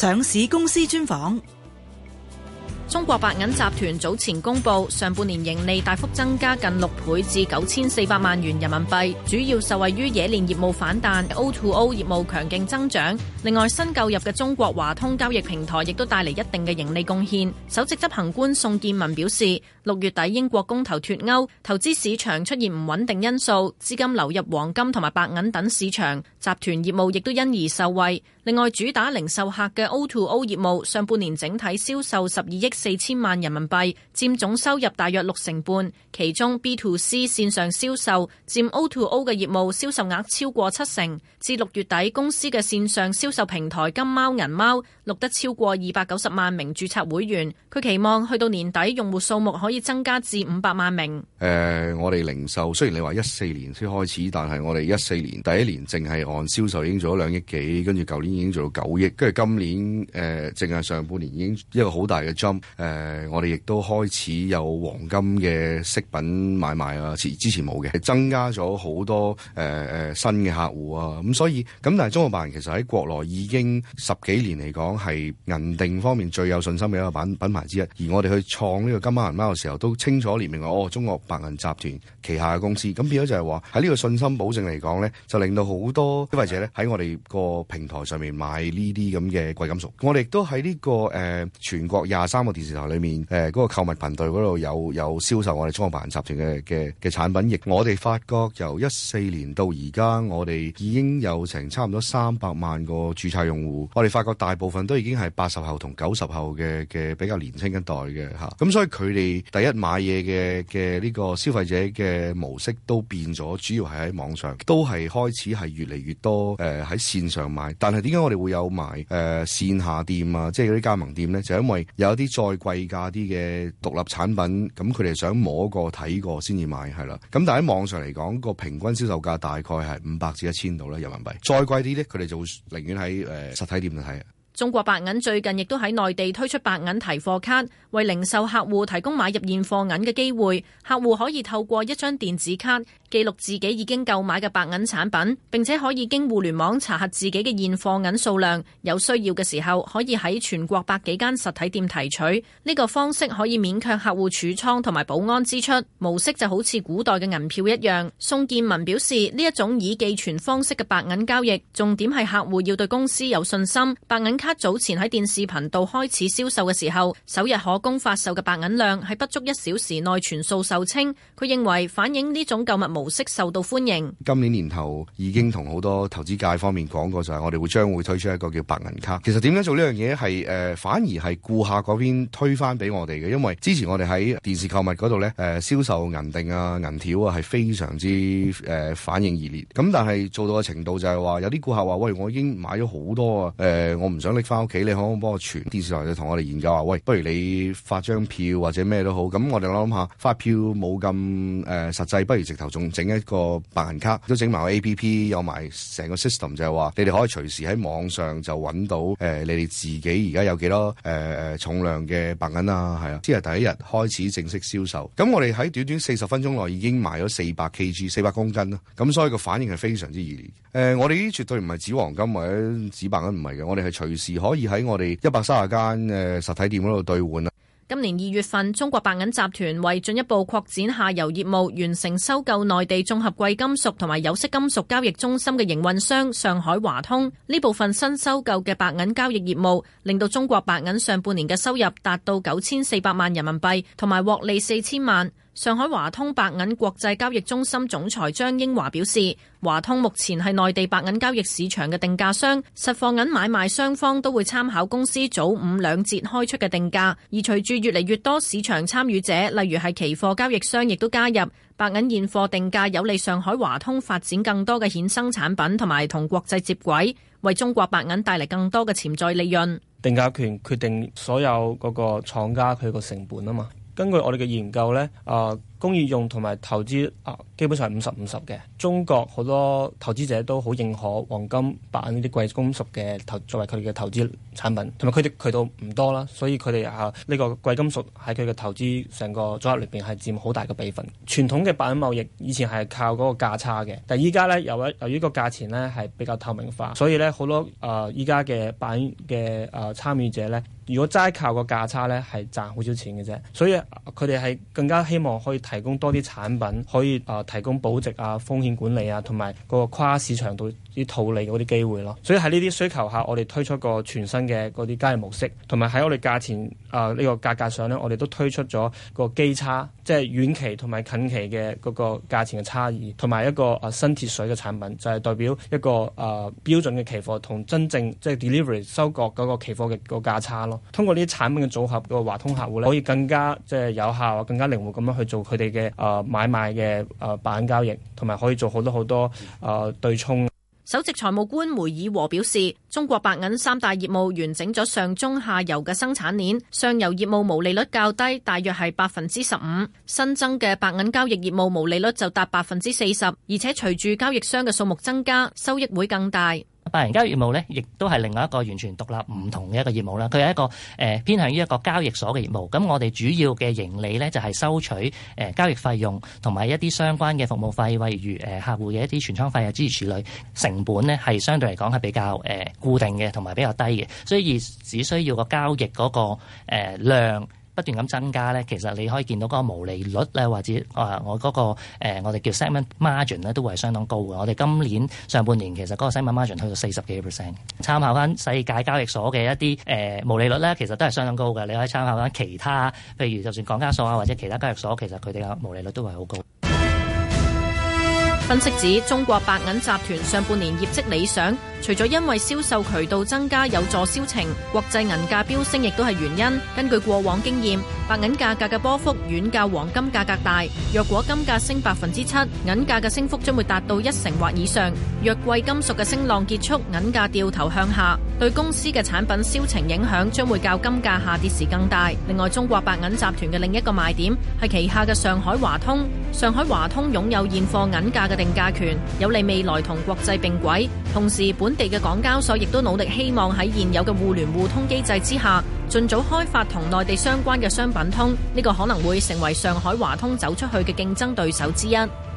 上市公司專訪。 中國白銀集團早前公布，上半年盈利大幅增加近6倍至9400萬元人民幣，主要受惠於冶煉業務反彈 ，O2O 業務強勁增長。另外，新購入嘅中國華通交易平台亦都帶嚟一定嘅盈利貢獻。首席執行官宋建文表示，6月底英國公投脫歐，投資市場出現唔穩定因素，資金流入黃金同埋白銀等市場，集團業務亦都因而受惠。另外，主打零售客嘅 O2O 業務，上半年整體銷售12億4000萬人民幣，佔總收入大約65%，其中 B2C 線上銷售佔 O2O 嘅業務銷售額超過70%。至6月底，公司嘅線上銷售平台金貓銀貓錄得超過290萬名註冊會員，佢期望去到年底用戶數目可以增加至500萬名。 我哋零售雖然你話14年先開始，但係我哋14年第一年淨係按銷售已經做咗2億幾，跟住舊年已經做到9億，跟住今年淨係上半年已經一個好大嘅 jump。我哋亦都開始有黃金嘅飾品買賣啊，之前冇嘅，增加咗好多新嘅客戶啊，咁所以咁但係中國白銀其實喺國內已經10幾年嚟講係銀定方面最有信心嘅一個品牌之一，而我哋去創呢個金貓銀貓嘅時候都清楚列明話中國白銀集團旗下嘅公司，咁變咗就係話喺呢個信心保證嚟講咧，就令到好多消費者咧喺我哋個平台上面買呢啲咁嘅貴金屬。我哋亦都喺呢個全國23個電視台裏面嗰個購物頻道嗰度有銷售我哋中國白銀集團嘅產品。亦我哋發覺由14年到而家，我哋已經有成差唔多300萬個註冊用戶。我哋發覺大部分都已經係80後同90後嘅比較年輕一代嘅嚇。咁所以佢哋第一買嘢嘅呢個消費者嘅模式都變咗，主要係喺網上，都係開始係越嚟越多喺線上買。但係點解我哋會有埋線下店啊，即係嗰啲加盟店咧？就因為有一啲再貴價啲嘅獨立產品，咁佢哋想摸過睇過先至買，係啦。咁但係喺網上嚟講，個平均銷售價大概係500至1000度啦人民幣。再貴啲咧，佢哋就會寧願喺實體店度睇。 中國白銀最近亦都喺內地推出白銀提貨卡，為零售客戶提供買入現貨銀嘅機會。客戶可以透過一張電子卡記錄自己已經購買嘅白銀產品，並且可以經互聯網查核自己嘅現貨銀數量。有需要嘅時候，可以喺全國100幾間實體店提取。呢個方式可以免卻客戶儲倉同埋保安支出，模式就好似古代嘅銀票一樣。宋建文表示，呢一種以寄存方式嘅白銀交易，重點係客戶要對公司有信心。白銀卡早前喺電視頻道開始銷售嘅時候，首日可供發售嘅白銀量喺不足1小時內全數售清。佢認為反映呢種購物模式受到歡迎。 今年年頭已經同好多投資界方面講過，就係我哋將會推出一個叫白銀卡。其實點樣做呢樣嘢係反而係顧客嗰邊推返俾我哋嘅，因為之前我哋喺電視購物嗰度咧銷售銀錠啊銀條啊係非常之反應熱烈。咁但係做到嘅程度就係話有啲顧客話：喂，我已經買咗好多啊，我唔想拎返屋企，你可唔可以幫我存？電視台就同我哋研究話：喂，不如你發張票或者咩都好。咁我哋諗下發票冇咁實際，不如直頭仲整一個白銀卡，都整埋個 APP， 有埋成個 system， 就係話你哋可以隨時喺網上就揾到你哋自己而家有幾多重量嘅白銀啊，係啊，即係第一日開始正式銷售。咁我哋喺短短40分鐘內已經賣咗400 kg 400公斤啦。咁所以個反應係非常之熱烈。我哋呢啲絕對唔係紙黃金或者紙白銀，唔係嘅，我哋係隨時可以喺我哋130間實體店嗰度兌換啦。 今年2月份，中國白銀集團為進一步擴展下游業務，完成收購內地綜合貴金屬同埋有色金屬交易中心嘅營運商上海華通。呢部分新收購嘅白銀交易業務，令到中國白銀上半年嘅收入達到9400萬人民幣，同埋獲利4000萬。上海華通白銀國際交易中心總裁張英華表示，華通目前係內地白銀交易市場嘅定價商，實貨銀買賣雙方都會參考公司早午兩節開出嘅定價。而隨住越嚟越多市場參與者，例如係期貨交易商，亦都加入，白銀現貨定價有利上海華通發展更多嘅衍生產品，同埋同國際接軌，為中國白銀帶嚟更多嘅潛在利潤。 定價權決定所有嗰個廠家佢個成本啊嘛。根據我哋嘅研究呢， 工業用同埋投資基本上係50-50嘅。中國好多投資者都好認可黃金、白銀呢啲貴金屬嘅作為佢哋嘅投資產品，同埋佢哋渠道唔多啦，所以佢哋呢個貴金屬喺佢嘅投資成個組合裏邊係佔好大嘅比分。傳統嘅白銀貿易以前係靠嗰個價差嘅，但係依家咧由於個價錢咧係比較透明化，所以咧好多依家嘅白銀嘅參與者咧，如果齋靠個價差咧係賺好少錢嘅啫，所以佢哋係更加希望可以提供多啲產品，可以提供保值風險管理同埋嗰個跨市場度啲套利嗰啲機會咯。所以喺呢啲需求下，我哋推出個全新嘅嗰啲交易模式，同埋喺我哋價錢呢個價格上咧，我哋都推出咗個基差，即係遠期同埋近期嘅嗰個價錢嘅差異，同埋一個新鐵水嘅產品，就係代表一個標準嘅期貨同真正即係 delivery 收割嗰個期貨嘅個價差咯。通過呢啲產品嘅組合，個華通客戶咧可以更加即係有效、更加靈活咁樣去做佢哋嘅買賣嘅白銀交易，同埋可以做好多對沖。 首席財務官梅爾和表示，中國白銀三大業務完整咗上中下游嘅生產鏈，上游業務毛利率較低，大約係15%，新增嘅白銀交易業務毛利率就達40%，而且隨住交易商嘅數目增加，收益會更大。 白銀交易業務咧，亦都係另外一個完全獨立唔同嘅一個業務啦。佢係一個偏向於一個交易所嘅業務。咁我哋主要嘅盈利咧就係收取交易費用同埋一啲相關嘅服務費，例如客戶嘅一啲存倉費啊諸如此類。成本咧係相對嚟講係比較固定嘅，同埋比較低嘅，所以只需要個交易嗰個量不斷咁增加咧，其實你可以見到嗰個毛利率咧，或者我嗰個我哋叫 segment margin 咧，都會係相當高嘅。我哋今年上半年其實嗰個 segment margin 去到40幾%。參考翻世界交易所嘅一啲毛利率咧，其實都係相當高嘅。你可以參考翻其他，譬如就算港交所或者其他交易所，其實佢哋嘅毛利率都係好高。 分析指，中國白銀集團上半年業績理想，除咗因為銷售渠道增加有助銷情，國際銀價飆升亦都係原因。根據過往經驗，白銀價格嘅波幅遠較黃金價格大。若果金價升7%，銀價嘅升幅將會達到1成或以上。若貴金屬嘅升浪結束，銀價掉頭向下，對公司嘅產品銷情影響將會較金價下跌時更大。另外，中國白銀集團嘅另一個賣點係旗下嘅上海華通。上海華通擁有現貨銀價嘅定價權，有利未來同國際並軌。同時，本地嘅港交所亦都努力希望喺現有嘅互聯互通機制之下，盡早開發同內地相關嘅商品通。呢個可能會成為上海華通走出去嘅競爭對手之一。